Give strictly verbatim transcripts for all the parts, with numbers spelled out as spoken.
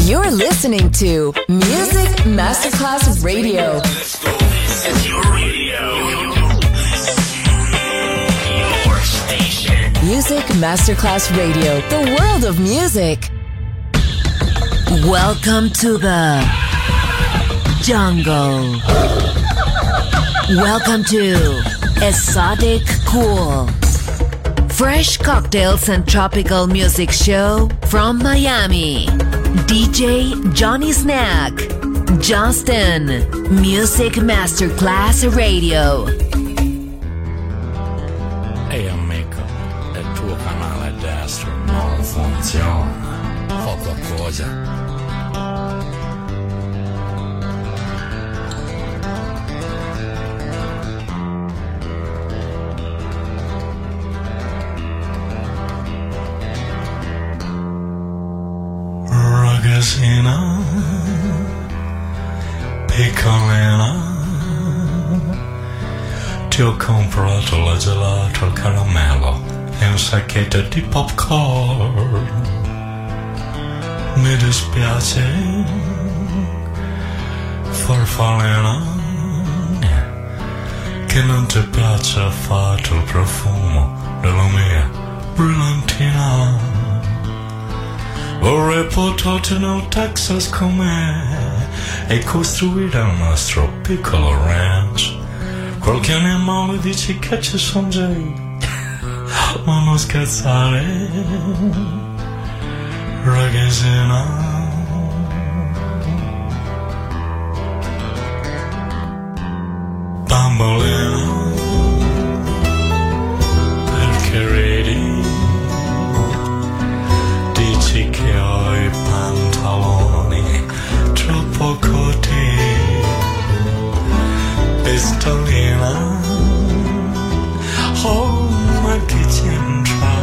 You're listening to Music Masterclass Radio. Let's go. This is your radio. Your station. Music Masterclass Radio. The world of music. Welcome to the jungle. Welcome to Exotic Cool. Fresh cocktails and tropical music show from Miami. D J Johnny Snack. Justin. Music Masterclass Radio. Ehi amico, il tuo canale destro non funziona. Fa qualcosa. Ragazzina, piccolina, ti ho comprato la gelato al caramello e un sacchetto di popcorn. Mi dispiace, farfallina, che non ti piace affatto il profumo della mia brillantina. Vorrei portarti nel Texas con me e costruire il nostro piccolo ranch. Qualche animale dice che ci sono già, ma non scherzare, ragazzina. Bambolina, perché ridi? Dici che ho i pantaloni troppo corti. Pistolina, oh ma che c'entra?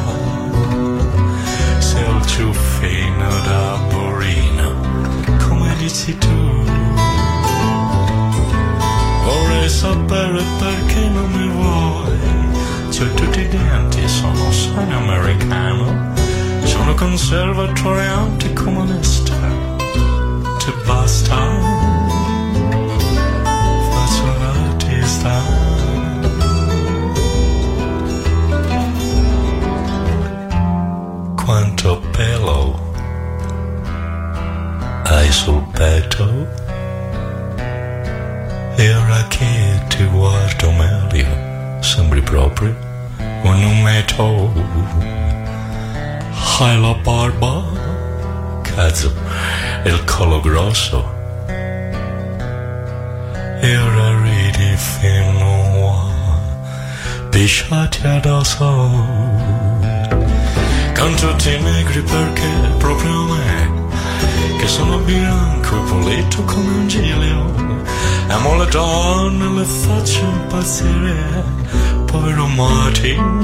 Sei il ciuffino da burino, come dici tu. Vorrei sapere perché non mi vuoi. C'ho tutti i denti, sono sano americano. Sono conservatoriante comunista. Ti basta? Faccio l'artista. Quanto pelo hai sul petto? E ora che ti guardo meglio, sembri proprio un umetto. Hai la barba, cazzo, e il collo grosso. E ora ridi fino a pisciati addosso. Con tutti i negri perché proprio me, che sono bianco e pulito come un giglio. Amo le donne, le faccio impazzire, povero Martin.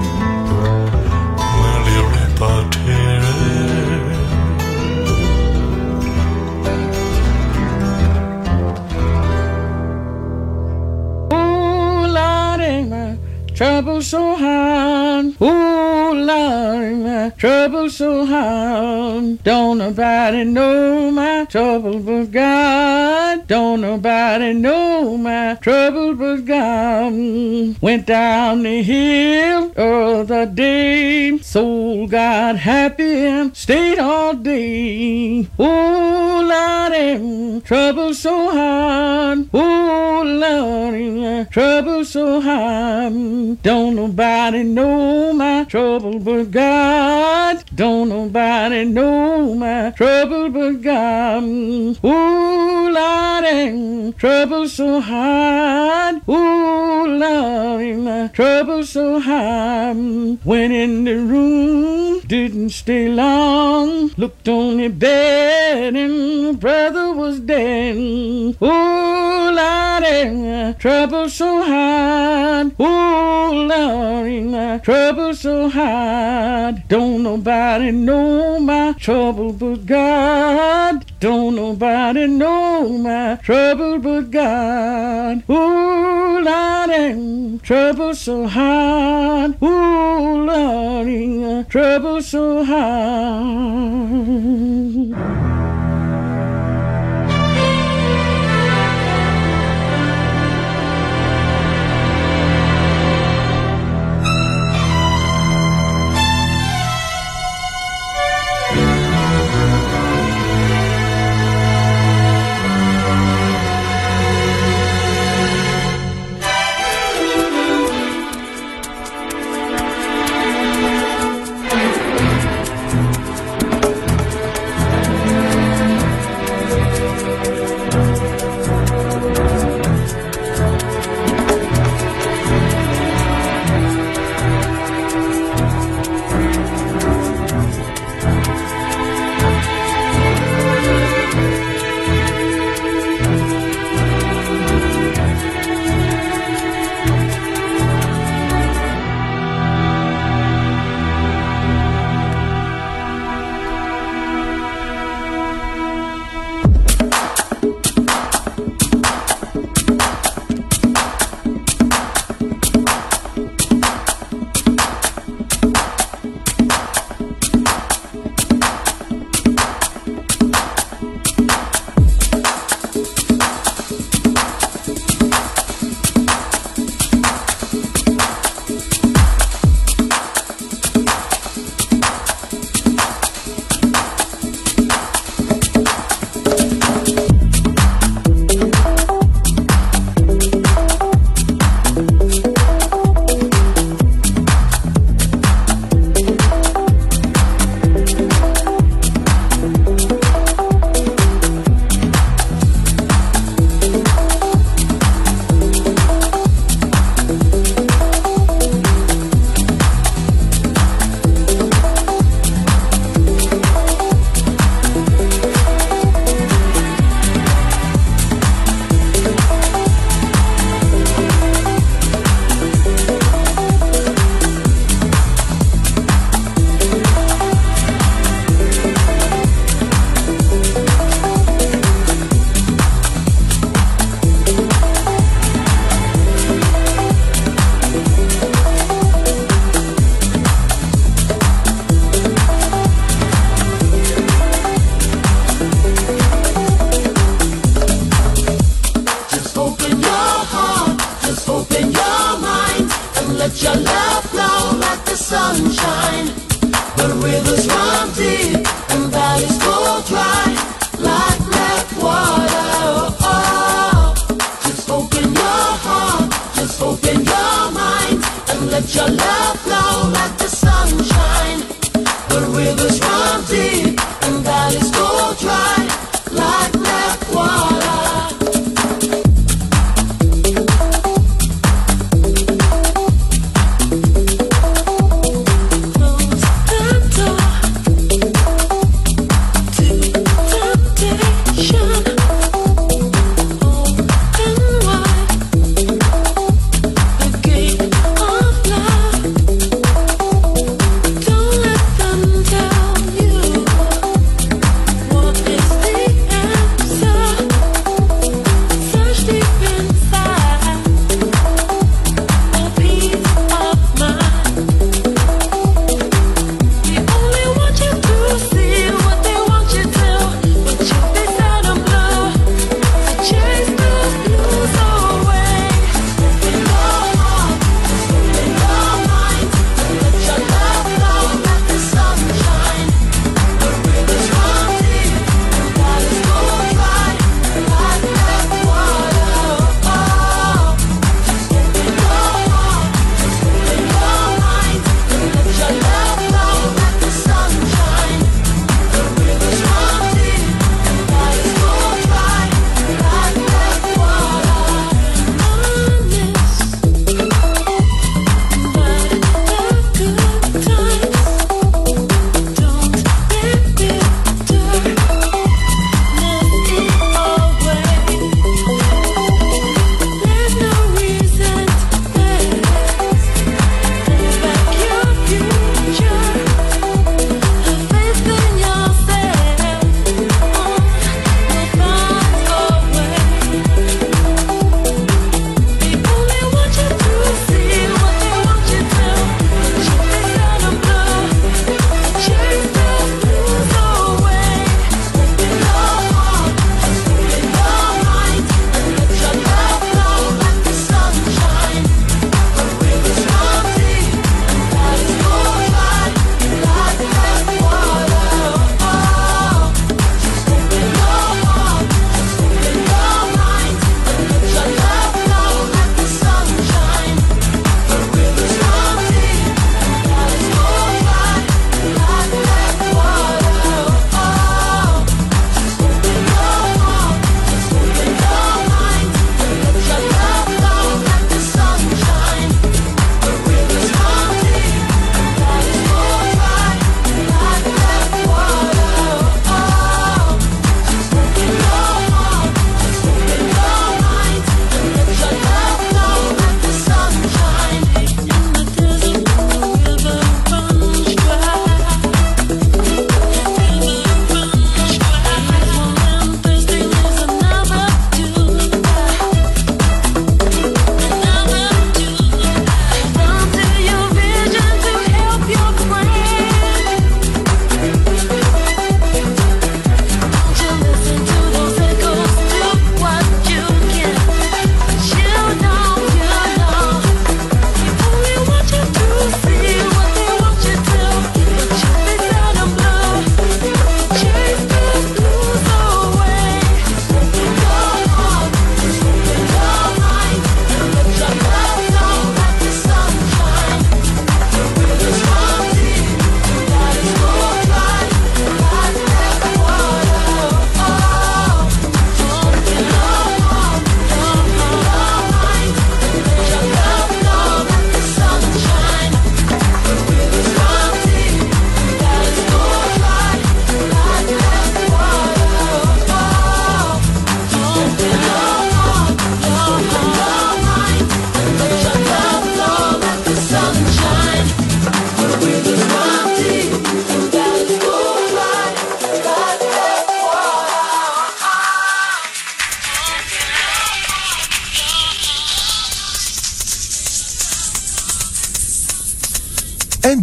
Ooh, Lordy, my trouble so hard. Ooh, Lordy, my trouble so hard. Don't nobody know my trouble but God. Don't nobody know my trouble but God. Went down the hill the other day, soul got happy and stayed all day. Ooh, Lordy, trouble so hard. Ooh, Lordy, trouble so hard. Don't nobody know my trouble but God. Don't nobody know my trouble but God. Ooh, Lordy, trouble so hard. Ooh, Lordy, my trouble so hard. Went in the room, didn't stay long. Looked on the bed and brother was dead. Ooh, Lordy, trouble so hard. Ooh, Lordy, trouble so hard. Don't nobody know my trouble but God. Don't nobody know my trouble but God. Ooh, Lordy, trouble so hard. Ooh, Lordy, trouble so hard.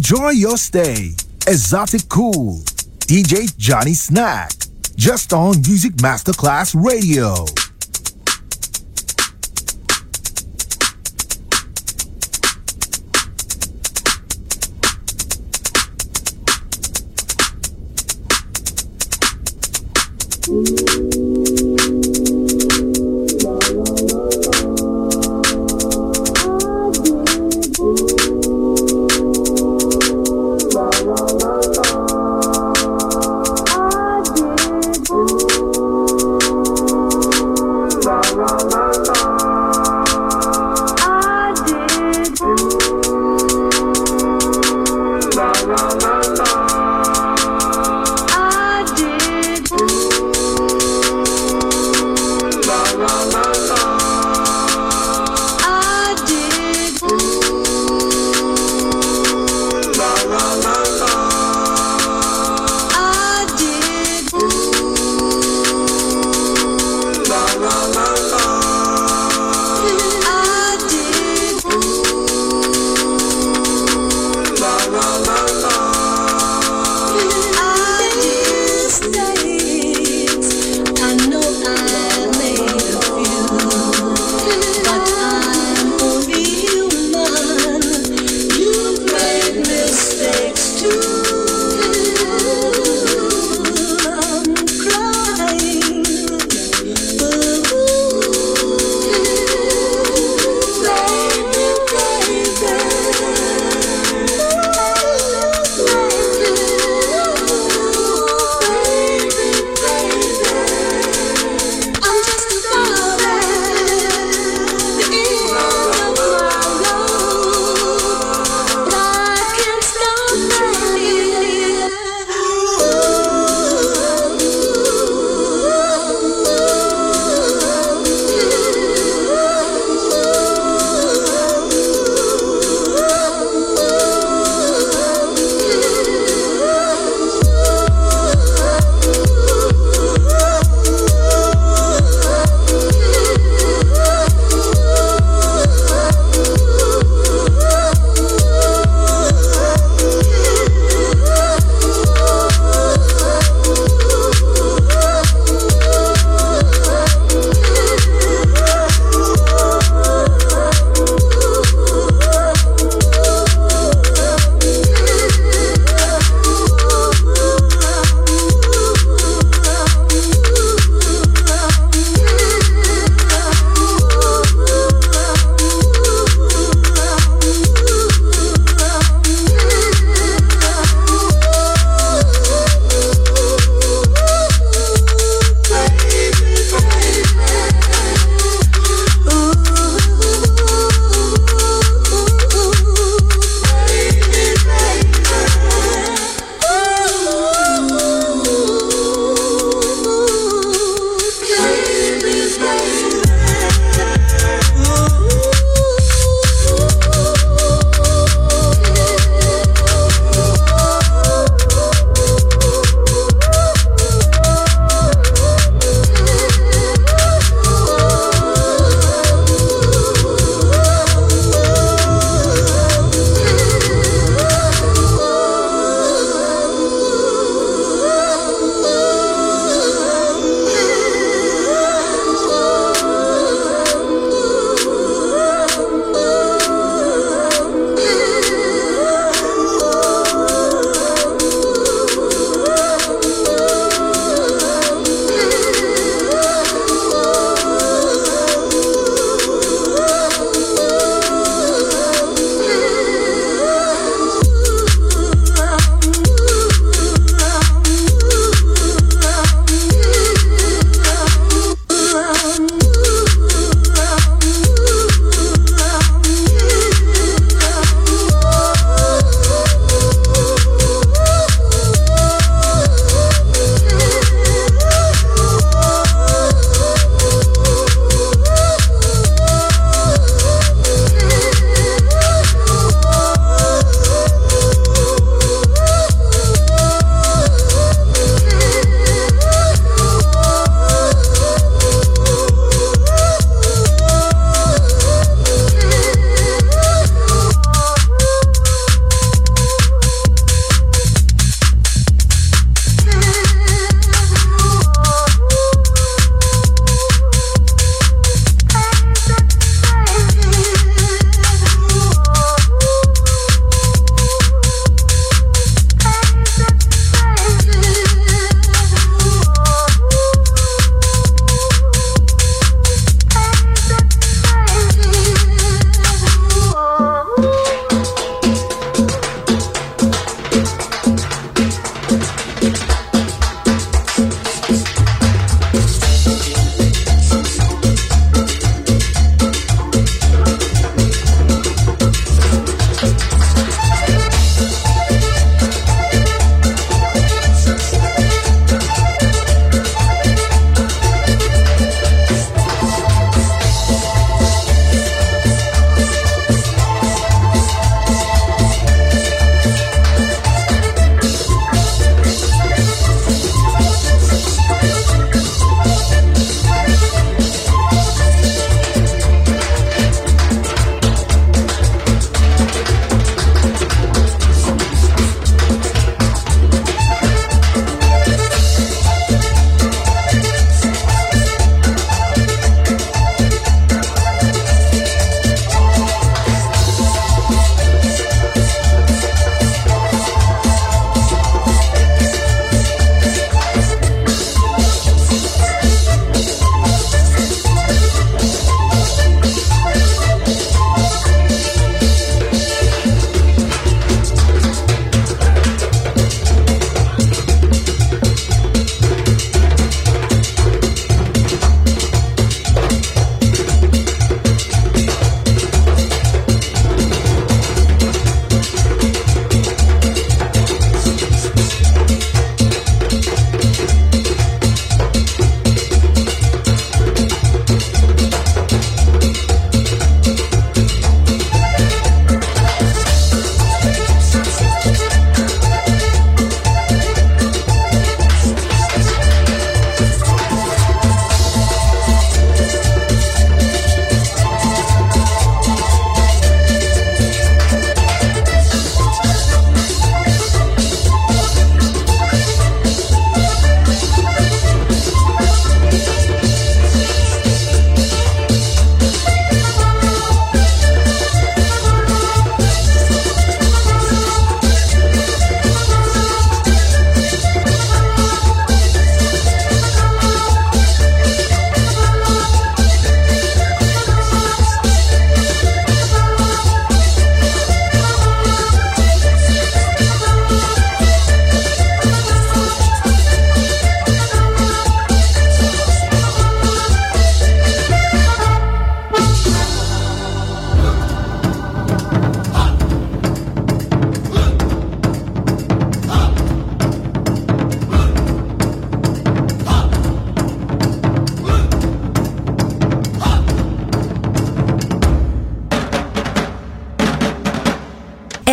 Enjoy your stay. Exotic Cool. D J Johnny Snack. Just on Music Masterclass Radio. I did.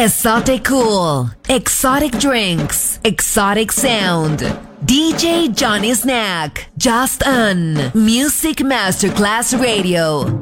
Exotic cool, exotic drinks, exotic sound. D J Johnny Snack, just on Music Masterclass Radio.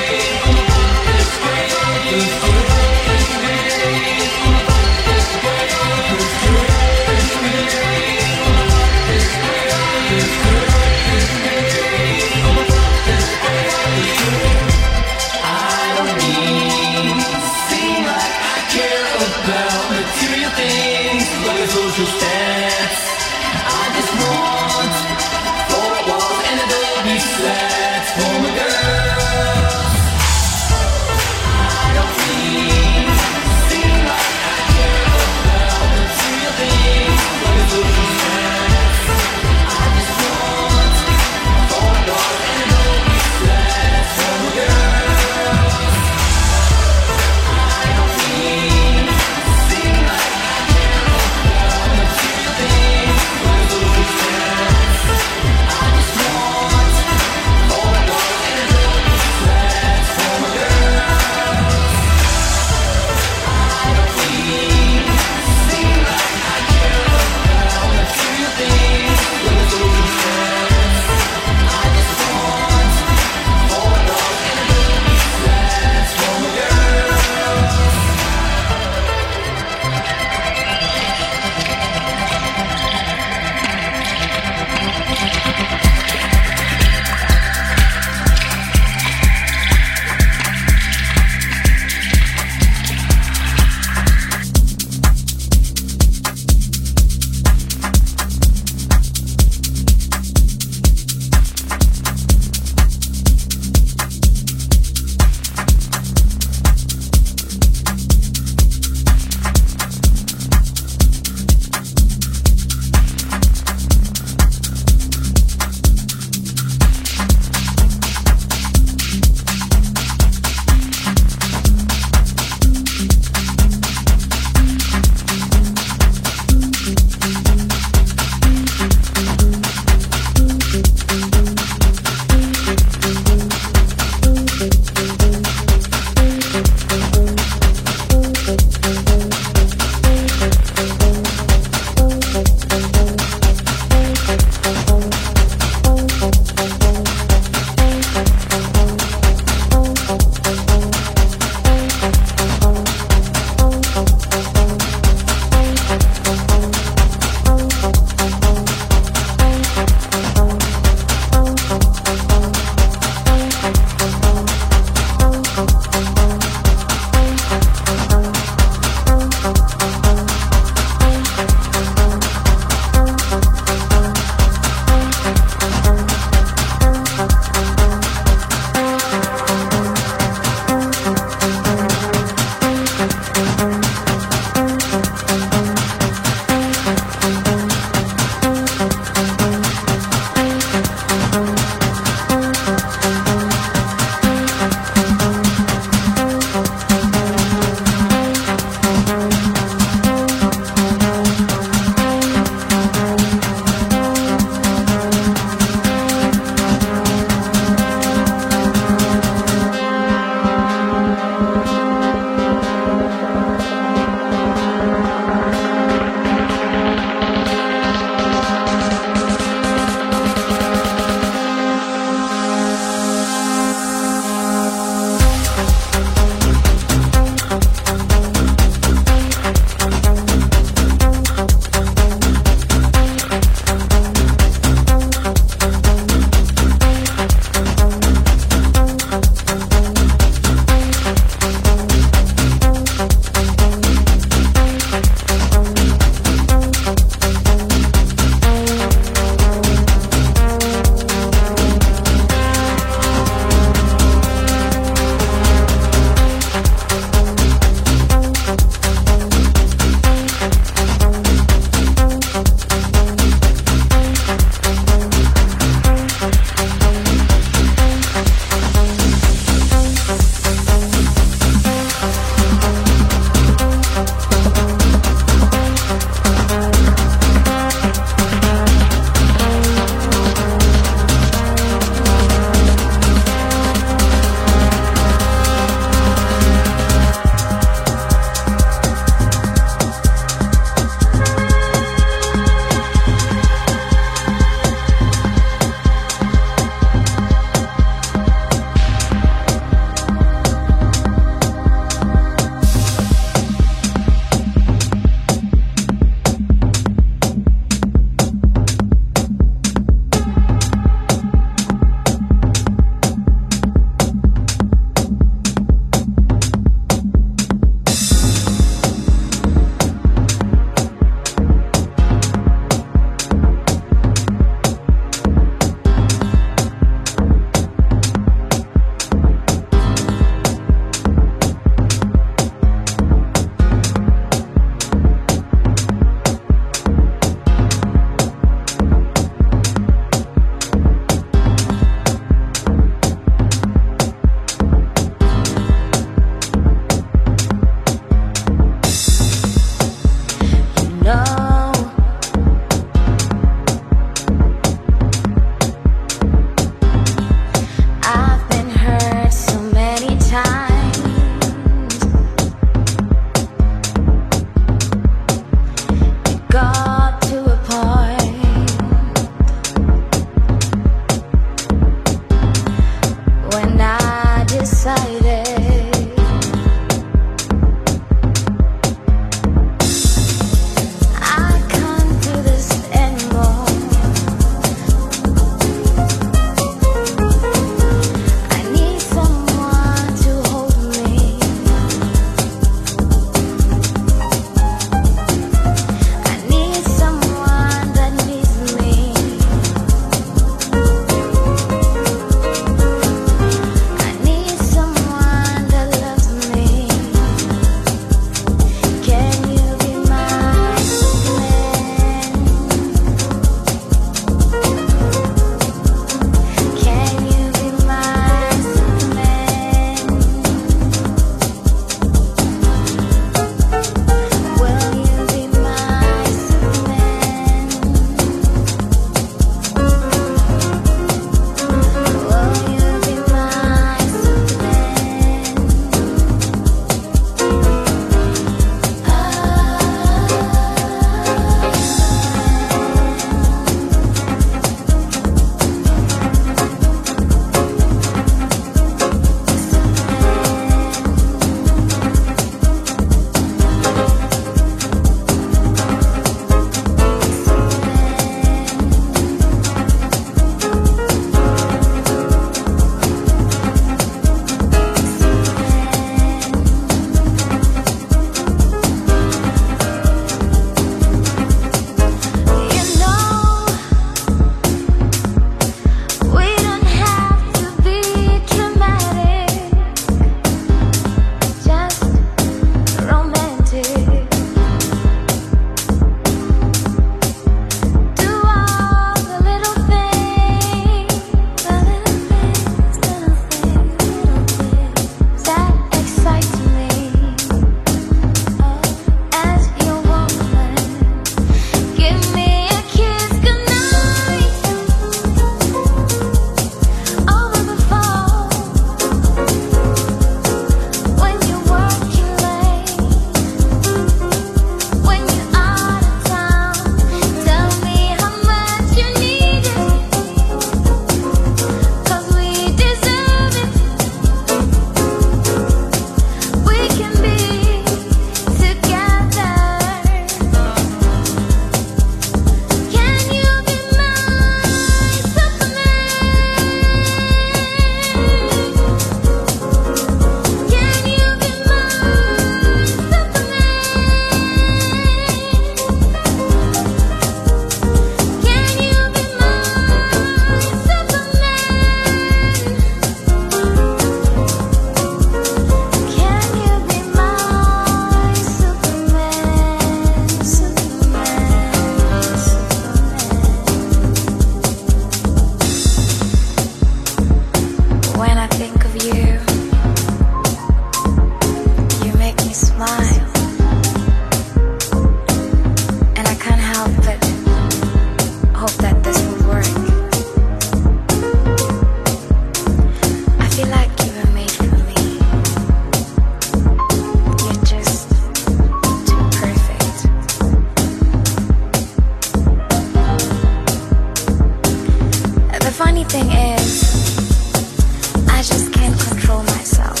funny thing is, I just can't control myself.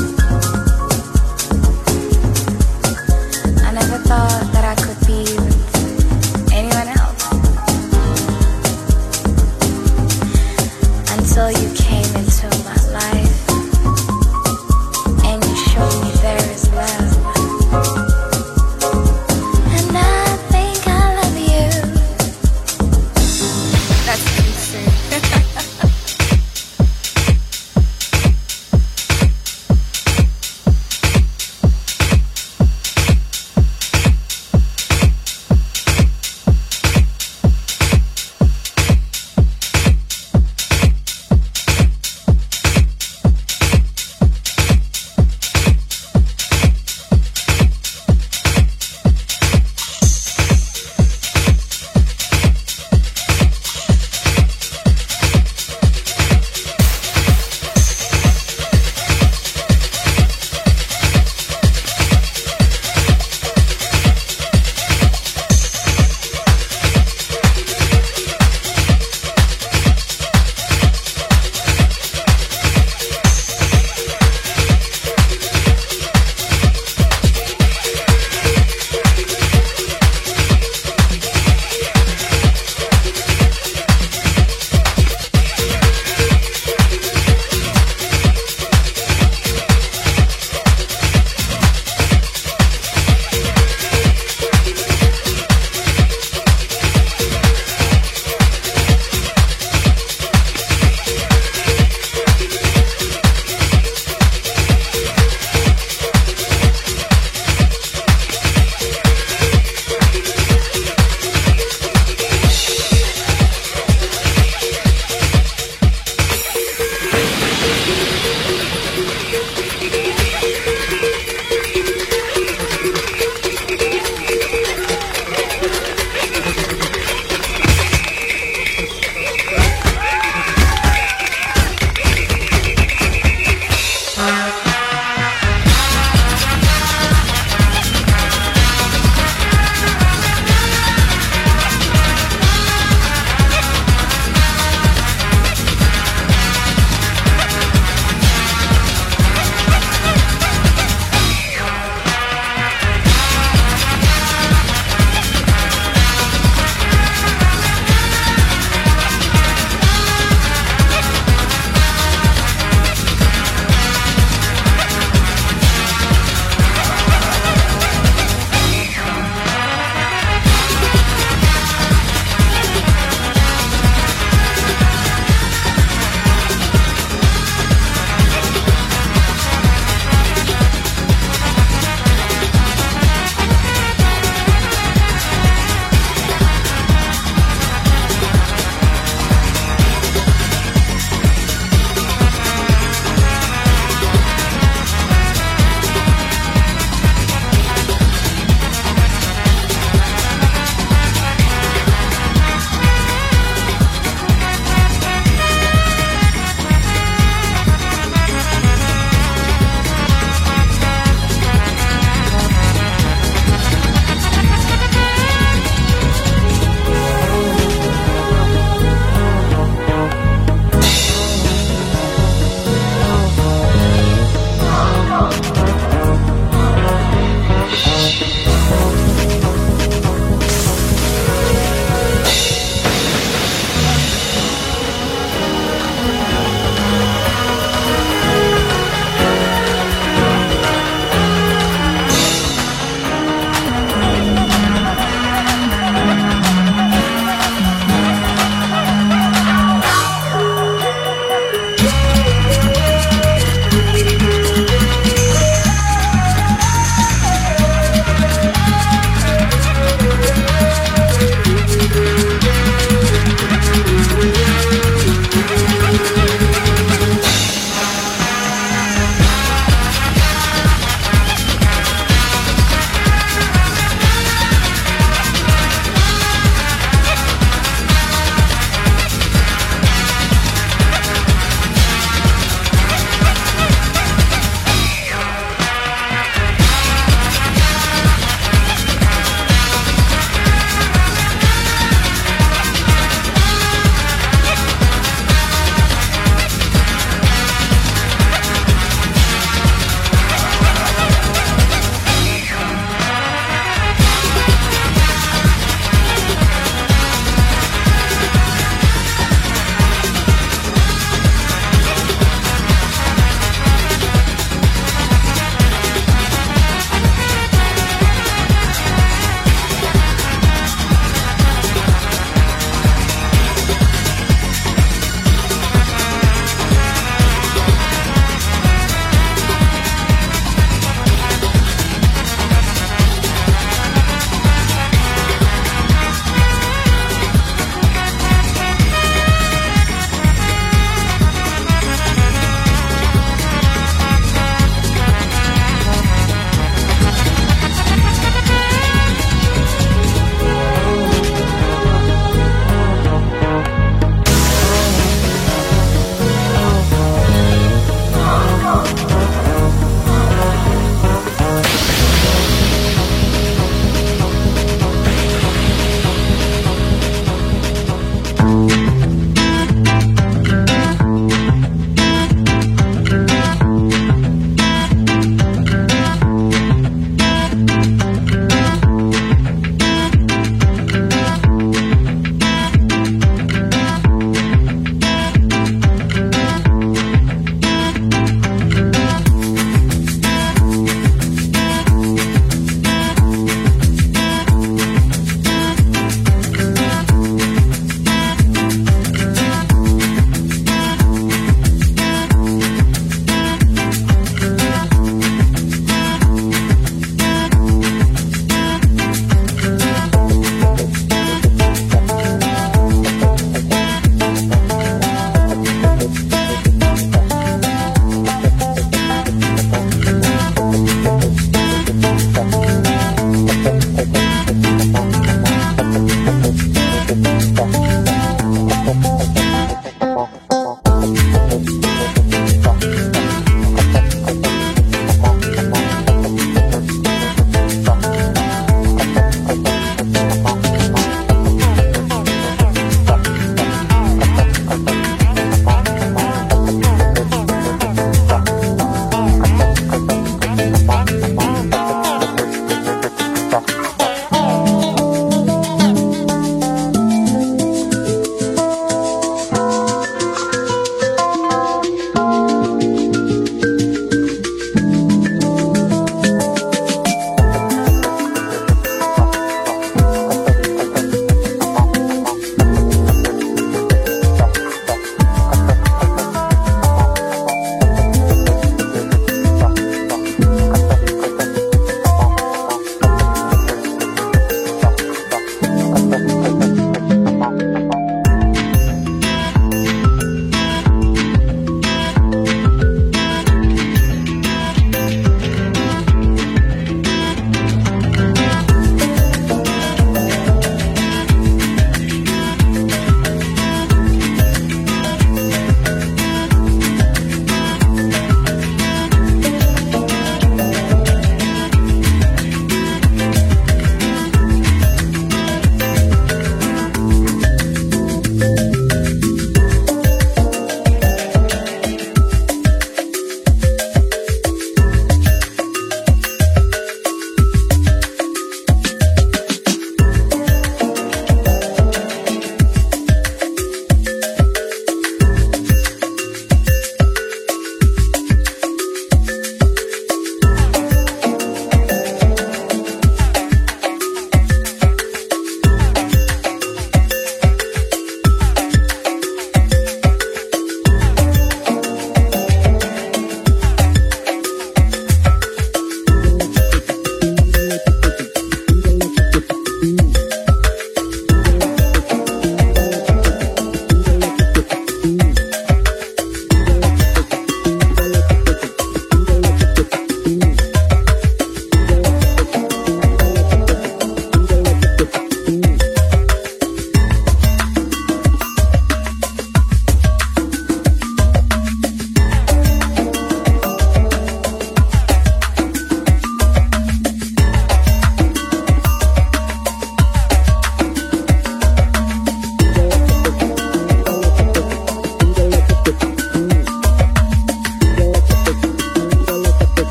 I never thought that I could be with anyone else until you came into my life and you showed me there is love. And I think I love you. That's pretty true.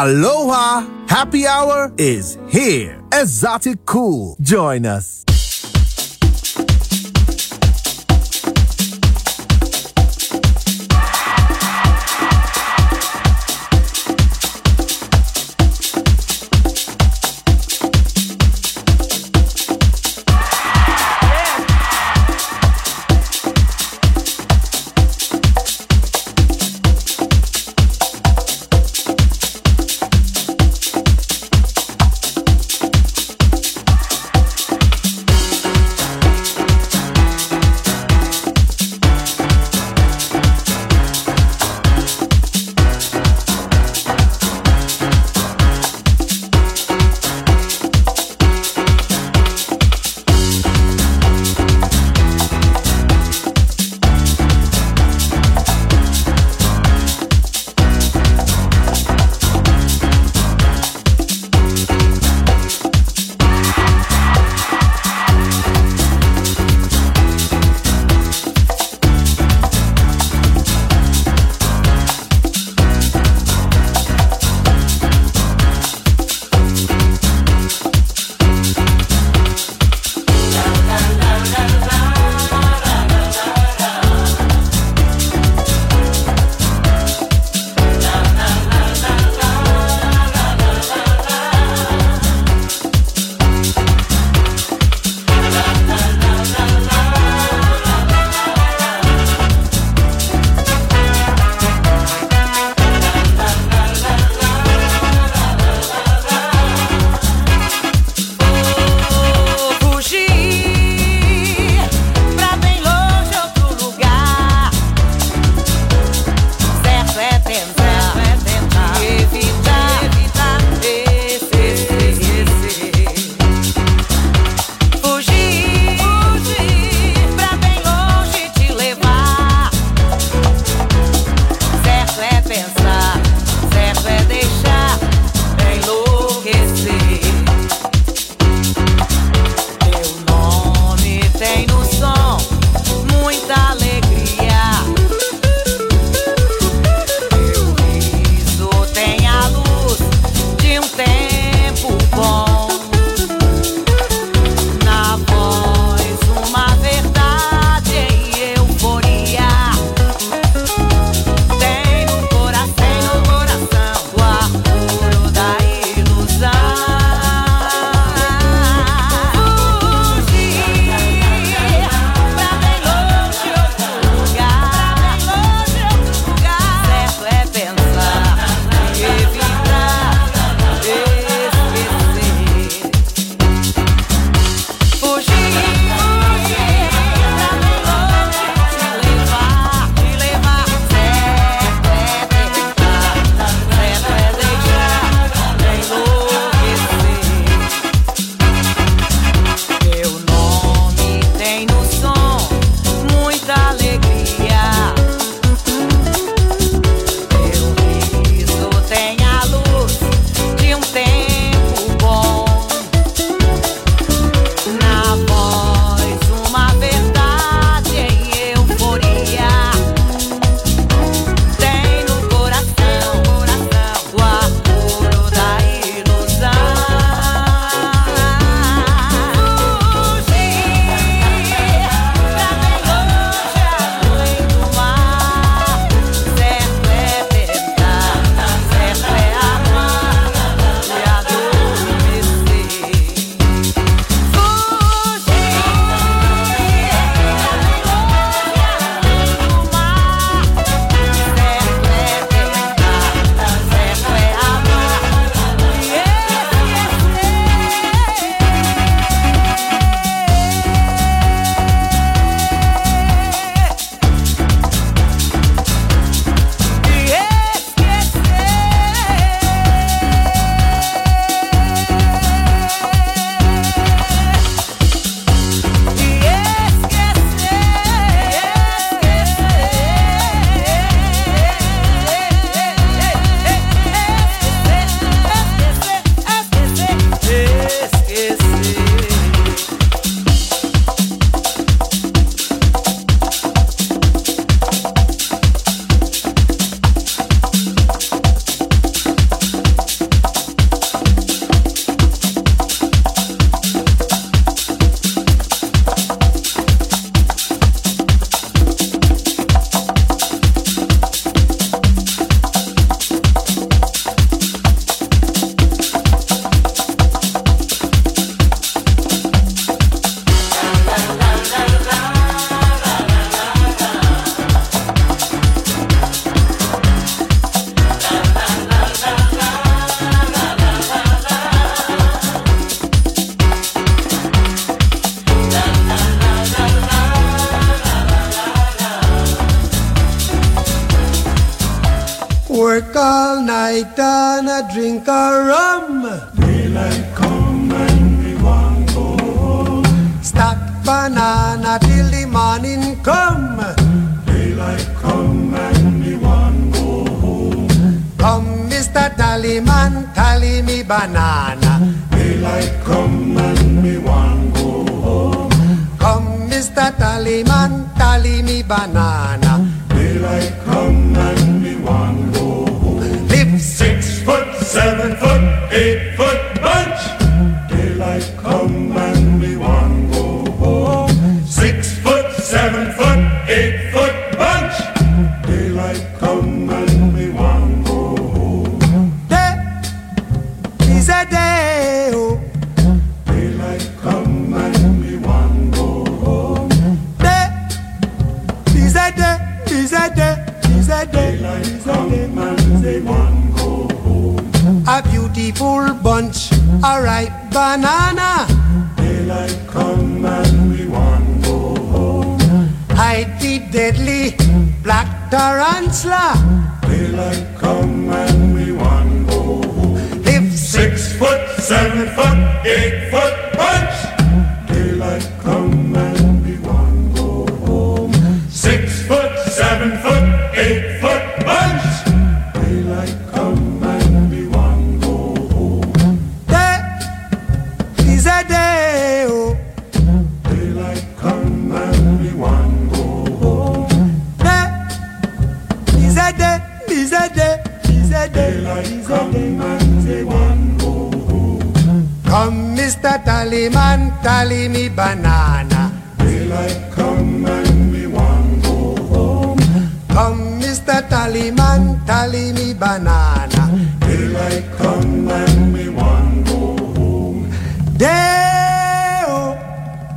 Aloha! Happy hour is here. Exotic Cool. Join us. Work all night and a drink a rum. Daylight come and we want go home. Stack banana till the morning come. Daylight come and we want go home. Come, Mister Tallyman, tally me banana. Daylight come and we want go home. Come, Mister Tallyman, tally me banana. Daylight come and we want go home. Live six foot, seven foot, eight foot bunch. Daylight come and we want go home. Six foot, seven foot, eight foot bunch. Daylight come and we want go home. Day is a day, oh. Daylight come and we want go home. Day is a day, is a day, is a day. Daylight come and we want go home. A beautiful bunch, a ripe banana. Daylight come and we want go home. Hide the deadly black tarantula. Daylight come and we want go home. Live six foot, seven foot, eight foot bunch. Daylight come and we want go home. Six foot, seven foot, eight foot bunch. Daylight come and we want go home. Day is a day, oh. Daylight come and we want go home. Day is a day, is a day, is a day. Daylight come and we want go home. Come, Mister Tallyman, tally me banana. Daylight come and we want go home. Come, Mister Tallyman, tally me banana. Daylight come and we want go home. Day-o,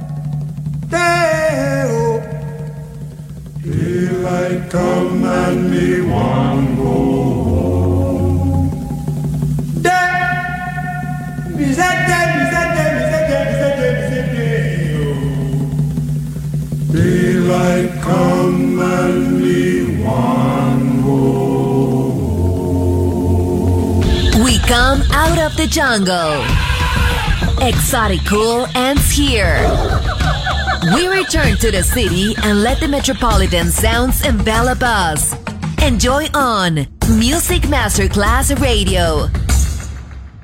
day-o. Daylight come and we want go home. Day, is a day, is a day, is a day, is a day, is a day. Daylight come and we want go home. We come out of the jungle. Exotic Cool ends here. We return to the city and let the metropolitan sounds envelop us. Enjoy on Music Masterclass Radio.